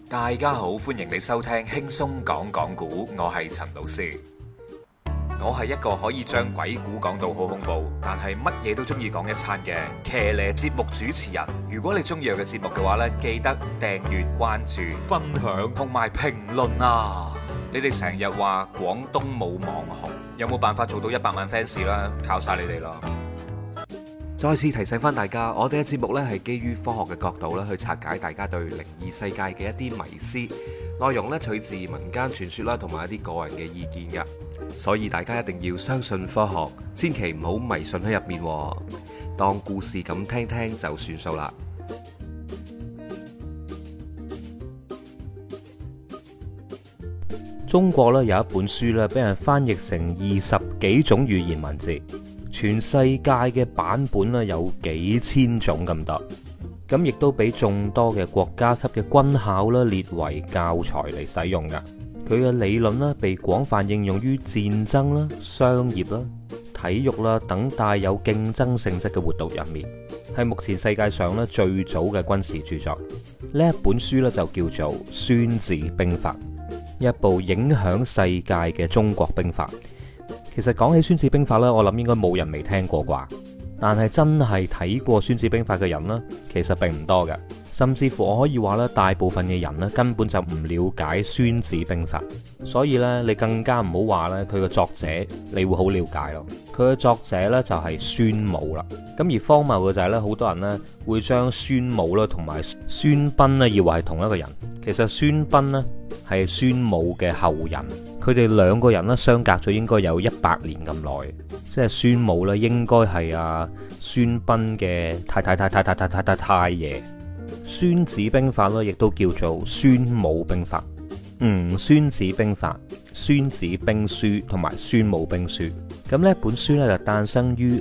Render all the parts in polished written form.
大家好，歡迎你收聽輕鬆講講古，我係陳老師。我係一個可以將鬼故講到好恐怖，但係乜嘢都中意講一餐嘅騎呢節目主持人。如果你中意我嘅節目嘅話呢，記得訂閱、關注、分享同埋評論啊！你哋成日話廣東冇網紅，有冇辦法做到100萬 fans 啦？靠晒你哋啦！再次提醒翻大家，我哋嘅節目呢係基於科學嘅角度咧去拆解大家對靈異世界嘅一啲迷思，內容呢取自民間傳說啦，同埋一啲個人嘅意見嘅，所以大家一定要相信科學，千祈唔好迷信喺入面，當故事咁聽聽就算數啦。 中國咧有一本書咧，俾人翻譯成20幾種語言文字。全世界嘅版本咧有幾千種咁多，咁亦都俾眾多嘅國家級嘅軍校啦列為教材嚟使用噶。佢嘅理論咧被廣泛應用於戰爭啦、商業啦、體育啦等帶有競爭性質嘅活動入面，係目前世界上咧最早嘅軍事著作。呢一本書咧就叫做《孫子兵法》，一部影響世界嘅中國兵法。其實講起孫子兵法呢，我諗應該冇人未聽過啩。但係真係睇過孫子兵法嘅人呢，其實並唔多嘅。甚至乎我可以話呢，大部分嘅人呢根本就唔了解孫子兵法。所以呢，你更加唔好話呢，佢嘅作者你會好了解咯。佢嘅作者呢，就係孫武啦。咁而荒謬嘅就係呢，好多人呢會將孫武啦同埋孫臏呢以為係同一個人。其實孫臏呢係孫武嘅後人。佢哋兩個人咧相隔咗應該有100年咁耐，即係孫武咧應該係阿孫臏嘅太爺。孫子兵法咧亦都叫做孫武兵法、孫子兵法、孫子兵書同埋孫武兵書。咁呢本書咧就誕生於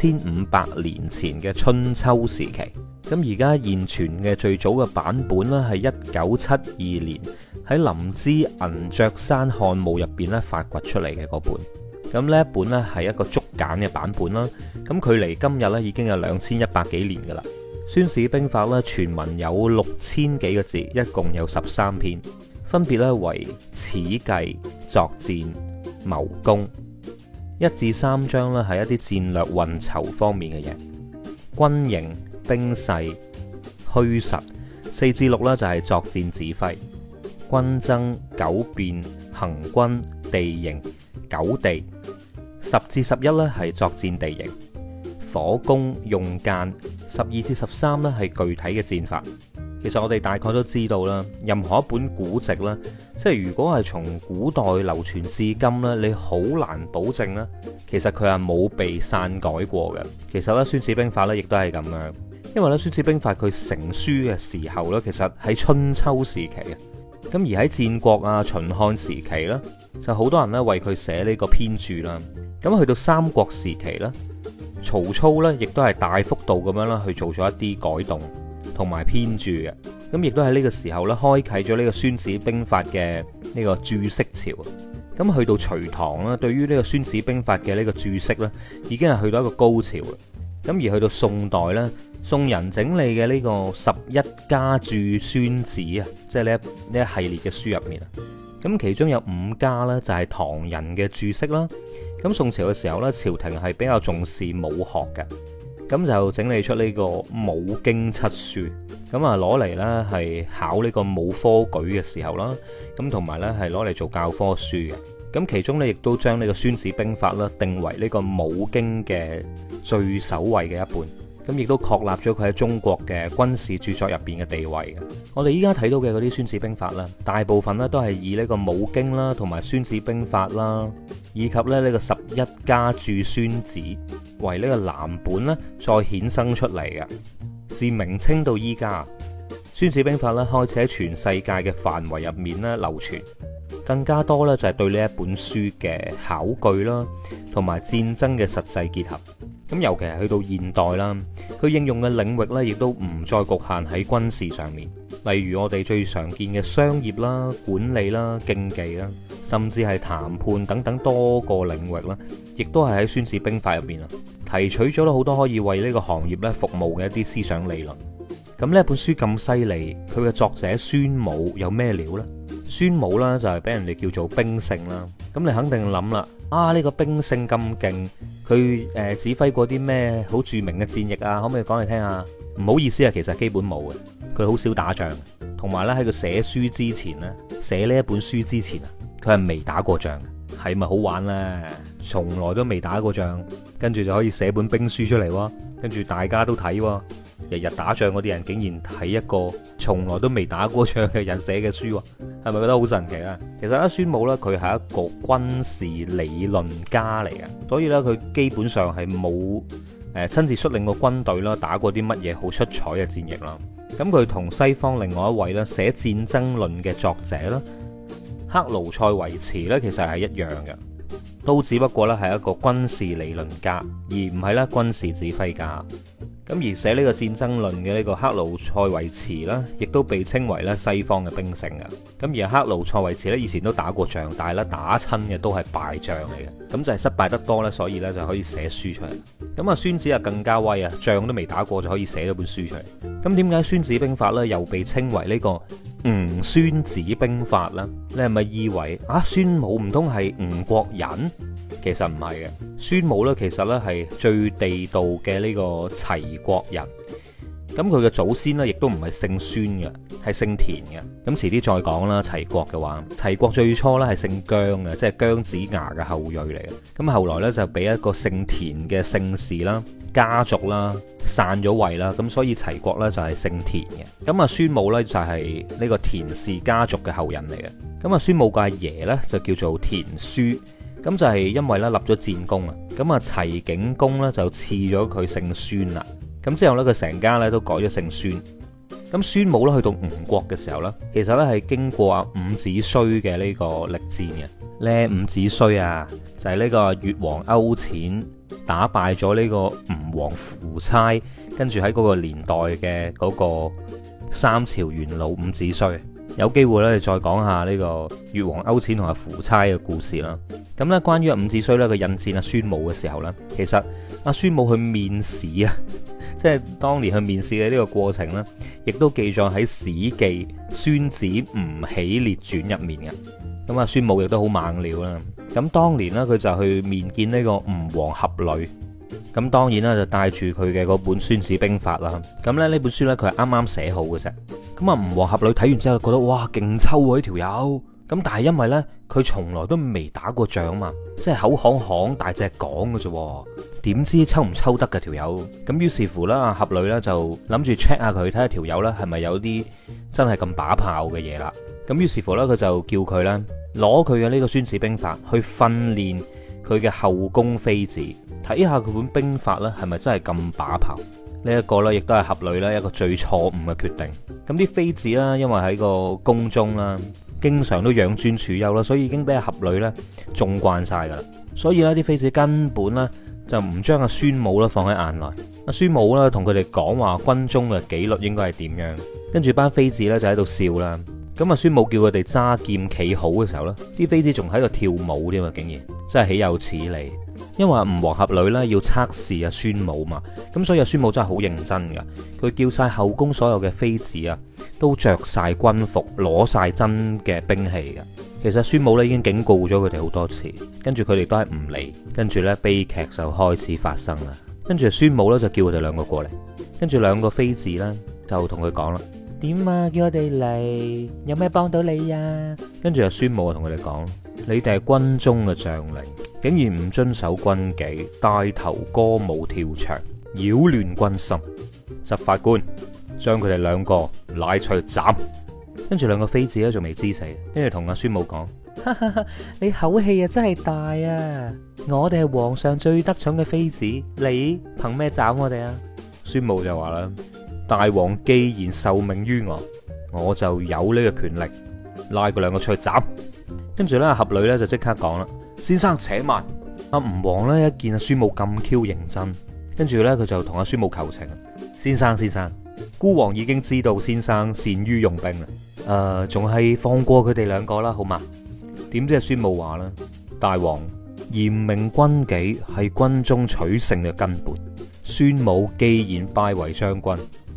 2500年前嘅春秋時期。咁而家現存嘅最早嘅版本咧係1972年喺林芝銀雀山漢墓入邊咧發掘出嚟嘅嗰本。咁呢一本咧係一個竹簡嘅版本啦。咁距離今日咧已經有2100幾年噶啦。孫子兵法咧全文有6000幾個字，一共有13篇，分別咧為始計、作戰、謀攻。1至3章咧係一啲戰略運籌方面嘅嘢，軍形、兵勢、虛實。4至6咧就係作戰指揮、軍爭、九變、行軍、地形、九地。10至11咧係作戰地形、火攻、用間。12至13咧係具體嘅戰法。其實我哋大概都知道啦，任何一本古籍啦，即係如果係從古代流傳至今咧，你好難保證咧，其實佢係冇被篡改過嘅。其實咧《孫子兵法》咧亦都係咁樣，因為咧《孫子兵法》佢成書嘅時候咧，其實喺春秋時期啊。咁而喺戰國啊、秦漢時期咧，就好多人咧為佢寫呢個編著啦。咁去到三國時期咧，曹操咧亦都係大幅度咁樣啦去做咗一啲改動同埋編著嘅。咁亦都喺呢個時候咧，開啟咗呢個《孫子兵法》嘅呢個注釋潮。咁去到隋唐啦，對於呢個《孫子兵法》嘅呢個注釋咧，已經係去到一個高潮啦。咁而去到宋代咧，宋人整理嘅呢個11家注孫子啊，即係呢一系列嘅書入面啊。咁其中有5家呢，就係唐人嘅注釋啦。咁宋朝嘅時候呢，朝廷係比較重視武學嘅，咁就整理出呢個武經七書。咁啊攞嚟呢係考呢個武科舉嘅時候啦，咁同埋呢係攞嚟做教科書嘅。咁其中呢，亦都將呢個孫子兵法啦定為呢個武經嘅最首位嘅一本。咁亦都確立咗佢喺中國嘅軍事著作入邊嘅地位嘅。我哋依家睇到嘅嗰啲孫子兵法啦，大部分呢都係以呢個武經啦，同埋孫子兵法啦，以及咧呢個11家注孫子為呢個藍本呢再衍生出嚟嘅。自明清到依家，孫子兵法咧開始喺全世界嘅範圍入面咧流傳，更加多咧就係對呢一本書嘅考據啦，同埋戰爭嘅實際結合。咁尤其係去到現代啦，佢應用嘅領域咧，亦都唔再局限喺軍事上面。例如我哋最常見嘅商業啦、管理啦、競技啦，甚至係談判等等多個領域啦，亦都係喺孫子兵法入邊啊，提取咗好多可以為呢個行業咧服務嘅一啲思想理論。 咁呢本書咁犀利，佢嘅作者孫武有咩料呢？孫武啦就係俾人哋叫做兵聖啦。咁你肯定諗啦，呢個兵聖咁勁，佢指揮過啲咩好著名嘅戰役啊？可唔可以講嚟聽下？唔好意思啊，其實基本冇嘅，佢好少打仗，同埋咧喺佢寫書之前咧，寫呢一本書之前啊，佢係未打過仗嘅，係咪好玩呢？從來都未打過仗，跟住就可以寫本兵書出嚟喎，跟住大家都睇喎。日日打仗嗰啲人竟然睇一個從來都未打過仗嘅人寫嘅書，係咪覺得好神奇啊？其實咧，孫武咧佢係一個軍事理論家嚟嘅，所以咧佢基本上係冇親自率領過軍隊啦，打過啲乜嘢好出彩嘅戰役啦。咁佢同西方另外一位咧寫戰爭論嘅作者啦，克勞塞維茨咧，其實係一樣嘅，都只不過咧係一個軍事理論家，而唔係咧軍事指揮家。咁而寫呢個戰爭論嘅呢個克勞塞維茨啦，亦都被稱為咧西方嘅兵聖嘅。咁而克勞塞維茨咧以前都打過仗，但係咧打親嘅都係敗仗嚟嘅。咁就係失敗得多咧，所以咧就可以寫書出嚟。咁啊，孫子啊更加威啊，仗都未打過就可以寫咗本書出嚟。咁點解孫子兵法咧又被稱為呢個吳孫子兵法咧？你係咪以為孫武唔通係吳國人？其實唔係嘅，孫武咧其實咧係最地道嘅呢個齊國人。咁佢嘅祖先咧亦都唔係姓孫嘅，係姓田嘅。咁遲啲再講啦。齊國嘅話，齊國最初咧係姓姜嘅，即係姜子牙嘅後裔嚟嘅。咁後來咧就俾一個姓田嘅姓氏啦、家族啦散咗位啦，咁所以齊國咧就係姓田嘅。咁啊，孫武咧就係呢個田氏家族嘅後人嚟嘅。咁啊，孫武嘅阿爺咧就叫做田書。咁就係因為咧立咗戰功啊，咁啊齊景公咧就賜咗佢姓孫啦。咁之後咧佢成家咧都改咗姓孫。咁孫武咧去到吳國嘅時候咧，其實咧係經過伍子胥嘅呢個力戰嘅。呢伍子胥啊，就係呢個越王勾踐打敗咗呢個吳王夫差，跟住喺嗰個年代嘅嗰個三朝元老伍子胥。有機會咧，再講下呢個越王勾踐同阿夫差嘅故事啦。咁咧，關於伍子胥咧，佢引薦阿孫武嘅時候咧，其實阿孫武去面試啊，即係當年去面試嘅呢個過程咧，亦都記載喺《史記·孫子吳起列傳》入面嘅。咁阿孫武亦都好猛料啦。咁當年咧，佢就去面見呢個吳王闔閭。咁當然啦，就帶住佢嘅嗰本《孫子兵法》啦。咁咧呢本書咧，佢係啱啱寫好嘅啫。咁啊，吳王闔閭睇完之後覺得哇，勁抽喎呢條友。咁但係因為咧，佢從來都未打過仗嘛，即係口行行大隻講嘅啫。點知抽唔抽得嘅條友？咁於是乎啦，闔閭咧就諗住 check 下佢，睇下條友咧係咪有啲真係咁把炮嘅嘢啦。咁於是乎咧，佢就叫佢咧攞佢嘅呢個《孫子兵法》去訓練佢嘅後宮妃子。睇下佢本兵法咧，係咪真係咁把炮？呢一個咧，亦都係闔閭咧一個最錯誤嘅決定。咁啲妃子啦，因為喺個宮中啦，經常都養尊處優啦，所以已經俾阿闔閭咧縱慣晒噶啦。所以咧，啲妃子根本咧就唔將阿孫武咧放喺眼內。阿孫武咧同佢哋講話軍中嘅紀律應該係點樣，跟住班妃子咧就喺度笑啦。咁啊，孫武叫佢哋揸劍企好嘅時候咧，啲妃子仲喺度跳舞添啊！竟然真係豈有此理！因為吳王闔閭咧要測試阿孫武嘛，咁所以阿孫武真係好認真噶。佢叫晒後宮所有嘅妃子啊，都着晒軍服，攞晒真嘅兵器噶。其實孫武咧已經警告咗佢哋好多次，跟住佢哋都係唔理，跟住咧悲劇就開始發生啦。跟住孫武咧就叫佢哋兩個過嚟，跟住兩個妃子咧就同佢講啦：點啊？叫我哋嚟，有咩幫到你呀？跟住阿孫武就同佢哋講：你哋係軍中嘅將領，竟然唔遵守軍紀，帶頭歌舞跳牆，擾亂軍心。執法官將佢哋兩個拉出去斬。跟住兩個妃子咧仲未知死，跟住同阿孫武講：哈哈哈，你口氣啊真係大啊！我哋係皇上最得寵嘅妃子，你憑咩斬我哋啊？孫武就話啦：大王既然受命於我就有呢個權力拉佢兩個出去斬。跟住咧，闔閭咧就即刻講啦：先生且慢。阿吳王咧一見阿孫武咁 Q 認真，跟住咧佢就同阿孫武求情：先生，孤王已經知道先生善於用兵啦，仲係放過佢哋兩個啦，好嘛？點知阿孫武話啦：大王，嚴明軍紀係軍中取勝嘅根本。孫武既然拜為將軍，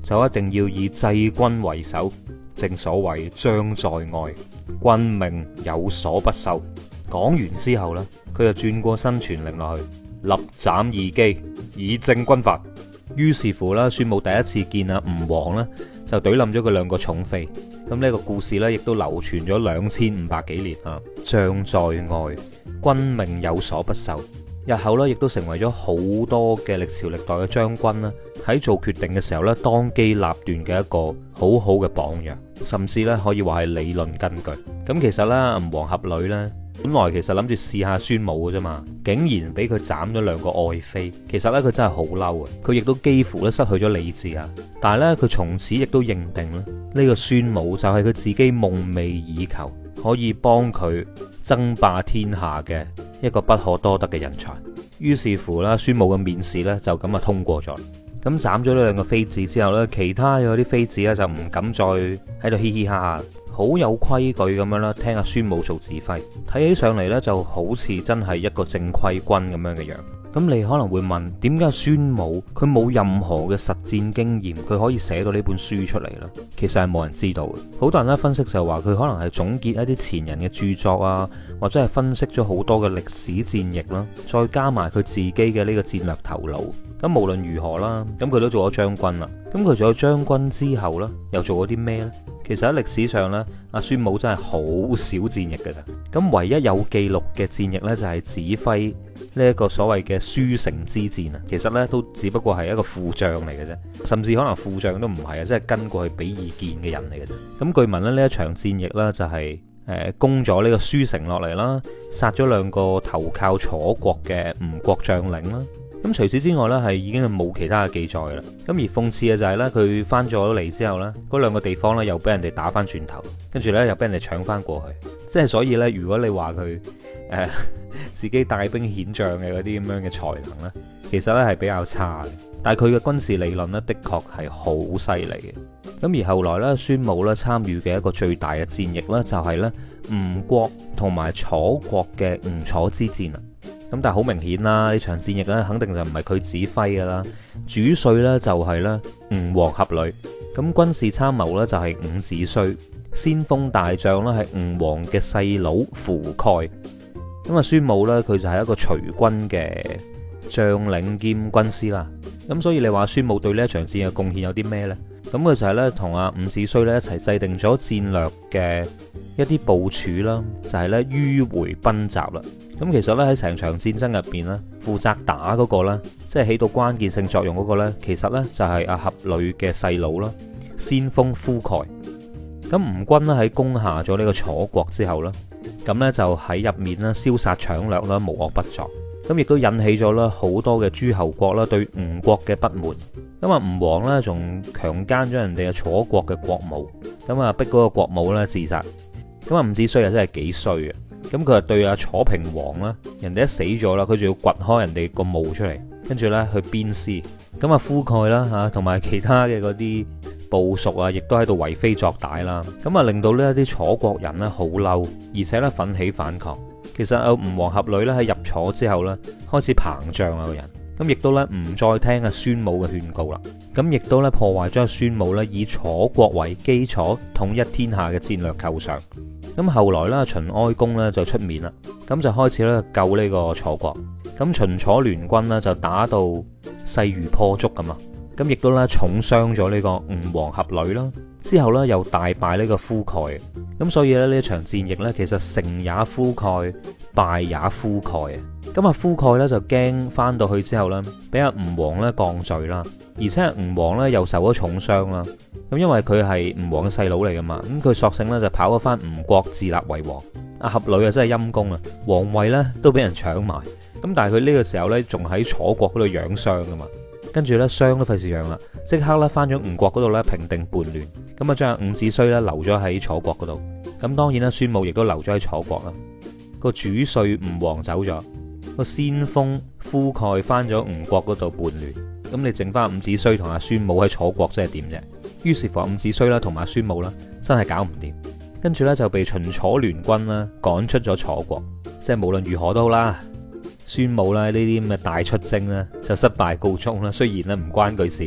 就一定要以制軍為首。正所謂將在外，君命有所不受。講完之後呢，佢就轉過身傳令落去，立斬二姬，以正軍法。於是乎啦，孫武第一次見阿吳王呢，就懟冧咗佢兩個寵妃。咁呢個故事呢，亦都流傳咗2500幾年啊。將在外，君命有所不受。日後呢，亦都成為咗好多嘅歷朝歷代嘅將軍啦，喺做決定嘅時候呢，當機立斷嘅一個好好嘅榜樣，甚至呢，可以話係理論根據。咁其實呢，吳王闔閭呢，本來其實諗住試下孫武嘅啫嘛，竟然俾佢斬咗兩個愛妃。其實呢，佢真係好嬲啊！佢亦都幾乎咧失去咗理智啊！但係呢，佢從此亦都認定咧，呢個孫武就係佢自己夢寐以求，可以幫佢爭霸天下嘅一個不可多得嘅人才。於是乎啦，孫武嘅面試呢，就咁啊通過咗。咁斬咗呢兩個妃子之後呢，其他嗰啲妃子呢，就唔敢再喺度嘻嘻哈哈，好有規矩咁樣啦，聽阿孫武做指揮。睇起上嚟呢，就好似真係一個正規軍咁樣嘅樣。咁你可能會問，點解孫武佢冇任何嘅實戰經驗，佢可以寫到呢本書出嚟呢？其實係冇人知道嘅。好多人咧分析就話佢可能係總結一啲前人嘅著作啊，或者係分析咗好多嘅歷史戰役啦，再加埋佢自己嘅呢個戰略頭腦。咁無論如何啦，咁佢都做咗將軍啦。咁佢做咗將軍之後呢，又做咗啲咩呢？其實喺歷史上呢，阿孫武真係好少戰役嘅咋。咁唯一有記錄嘅戰役呢，就係指揮呢一個所謂嘅書城之戰啊。其實呢，都只不過係一個副將嚟嘅啫，甚至可能副將都唔係啊，即係跟過去俾意見嘅人嚟嘅啫。咁據聞咧，呢一場戰役呢，就係攻咗呢個書城落嚟啦，殺咗兩個投靠楚國嘅吳國將領啦。咁除此之外呢，係已經係冇其他嘅記載啦。咁而諷刺嘅就係呢，佢翻咗嚟之後呢，嗰兩個地方呢，又俾人哋打翻轉頭，跟住呢，又俾人哋搶翻過去。即係所以呢，如果你話佢自己帶兵遣將嘅嗰啲咁樣嘅才能呢，其實呢係比較差嘅。但係佢嘅軍事理論呢，的確係好犀利嘅。咁而後來呢，孫武呢參與嘅一個最大嘅戰役呢，就係呢吳國同埋楚國嘅吳楚之戰啊。咁但係好明顯啦，呢場戰役咧，肯定就唔係佢指揮噶啦，主帥呢就係咧吳王闔閭，咁軍事參謀呢就係伍子胥，先鋒大將呢係吳王嘅細佬夫概。咁啊，孫武呢，佢就係一個隨軍嘅將領兼軍師啦。咁所以你話孫武對呢一場戰役貢獻有啲咩呢？咁佢就係咧同阿伍子胥咧一齊制定咗戰略嘅一啲部署啦，就係咧迂迴奔襲啦。咁其實咧喺成場戰爭入邊咧，負責打嗰個咧，即係起到關鍵性作用嗰個咧，其實咧就係阿闔閭嘅細佬啦，先鋒夫概。咁吳軍咧喺攻下咗呢個楚國之後咧，咁咧就喺入面咧燒殺搶掠啦，無惡不作。咁亦都引起咗啦好多嘅諸侯國啦對吳國嘅不滿。咁啊，吳王咧仲強姦咗人哋嘅楚國嘅國母，咁啊逼嗰個國母咧自殺。咁啊，伍子胥啊真係幾衰啊！咁佢啊對阿楚平王啦，人哋一死咗啦，佢仲要掘開人哋個墓出嚟，跟住咧去鞭屍。咁啊，夫概啦吓，同埋其他嘅嗰啲部屬啊，亦都喺度為非作歹啦。咁啊，令到呢一啲楚國人咧好嬲，而且咧奮起反抗。其實啊，吳王闔閭咧喺入楚之後咧，開始膨脹啊個人。咁亦都咧唔再聽阿孫武嘅勸告啦，咁亦都咧破壞咗阿孫武咧以楚國為基礎統一天下嘅戰略構想。咁後來咧秦哀公咧就出面啦，咁就開始咧救呢個楚國。咁秦楚聯軍呢，就打到勢如破竹咁啊，咁亦都咧重傷咗呢個吳王闔閭啦。之後咧又大敗呢個夫概。咁所以咧呢一場戰役咧，其實成也夫概，敗也夫概啊。咁啊，夫概咧就驚翻到去之後咧，俾阿吳王咧降罪啦，而且吳王咧又受咗重傷啦。咁因為佢係吳王嘅細佬嚟噶嘛，咁佢索性咧就跑咗翻吳國自立為王。阿闔閭啊真係陰公啊，皇位咧都俾人搶埋。咁但係佢呢個時候咧仲喺楚國嗰度養傷噶嘛，跟住咧傷都費事養啦，即刻咧翻咗吳國嗰度咧平定叛亂。咁啊將伍子胥咧留咗喺楚國嗰度。咁當然啦，孫武亦都留咗喺楚國啦。個主帥吳王走咗，個先鋒夫概翻咗吳國嗰度叛亂。咁你剩翻伍子胥同阿孫武喺楚國，即係點啫？於是乎伍子胥啦同埋孫武啦，真係搞唔掂。跟住咧就被秦楚聯軍啦趕出咗楚國。即係無論如何都好啦，孫武啦呢啲咁嘅大出征咧就失敗告終啦。雖然咧唔關佢事，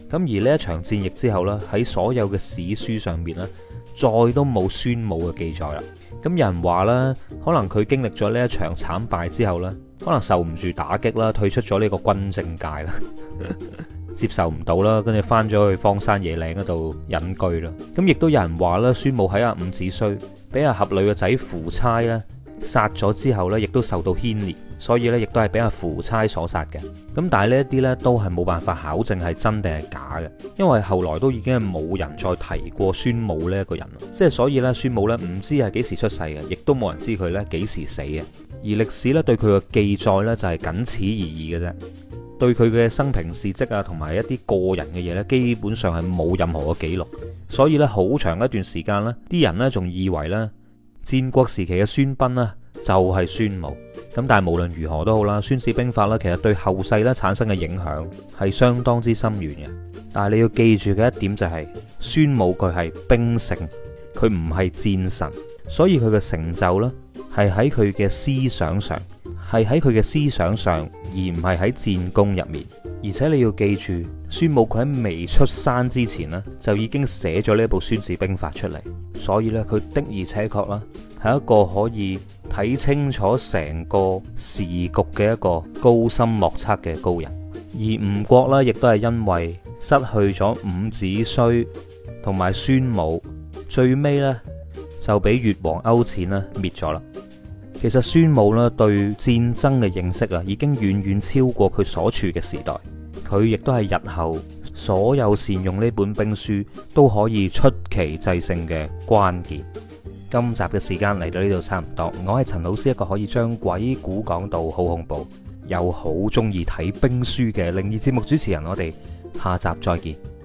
咁而呢一場戰役之後呢，喺所有嘅史書上面呢，再都冇孫武嘅記載啦。咁有人話啦，可能佢經歷咗呢一場慘敗之後呢，可能受唔住打擊啦，退出咗呢個軍政界啦，接受唔到啦，跟住翻咗去荒山野嶺嗰度隱居啦。咁亦都有人話啦，孫武喺阿伍子胥俾阿闔閭嘅仔夫差咧殺咗之後呢，亦都受到牽連，所以呢，亦都係俾阿夫差所殺嘅。咁但係呢一啲呢，都係冇辦法考證係真定係假嘅，因為後來都已經係冇人再提過孫武呢一個人，即係所以呢，孫武呢唔知係幾時出世嘅，亦都冇人知佢呢幾時死嘅。而歷史呢，對佢嘅記載呢，就係僅此而已嘅啫，對佢嘅生平事蹟啊同埋一啲個人嘅嘢呢，基本上係冇任何嘅記錄。所以呢，好長一段時間呢，啲人呢仲以為呢戰國時期嘅孫臏呢就係孫武。咁但係無論如何都好啦，《孫子兵法》呢其實對後世呢產生嘅影響係相當之深遠嘅。但係你要記住嘅一點就係，孫武佢係兵聖，佢唔係戰神，所以佢嘅成就呢係喺佢嘅思想上，而唔係喺戰功入面。而且你要記住，孫武佢喺未出山之前呢，就已經寫咗呢部《孫子兵法》出嚟，所以呢，佢的而且確啦係一個可以睇清楚成個時局嘅一個高深莫測嘅高人。而吳國呢，亦都係因為失去咗伍子胥同埋孫武，最尾呢，就俾越王勾踐呢滅咗啦。其實孫武呢對戰爭嘅認識啊，已經遠遠超過佢所處嘅時代。佢亦都係日後所有善用呢本兵書都可以出奇制勝嘅關鍵。今集嘅時間嚟到呢度差唔多，我係陳老師，一個可以將鬼故講到好恐怖，又好中意睇兵書嘅靈異節目主持人。我哋下集再見。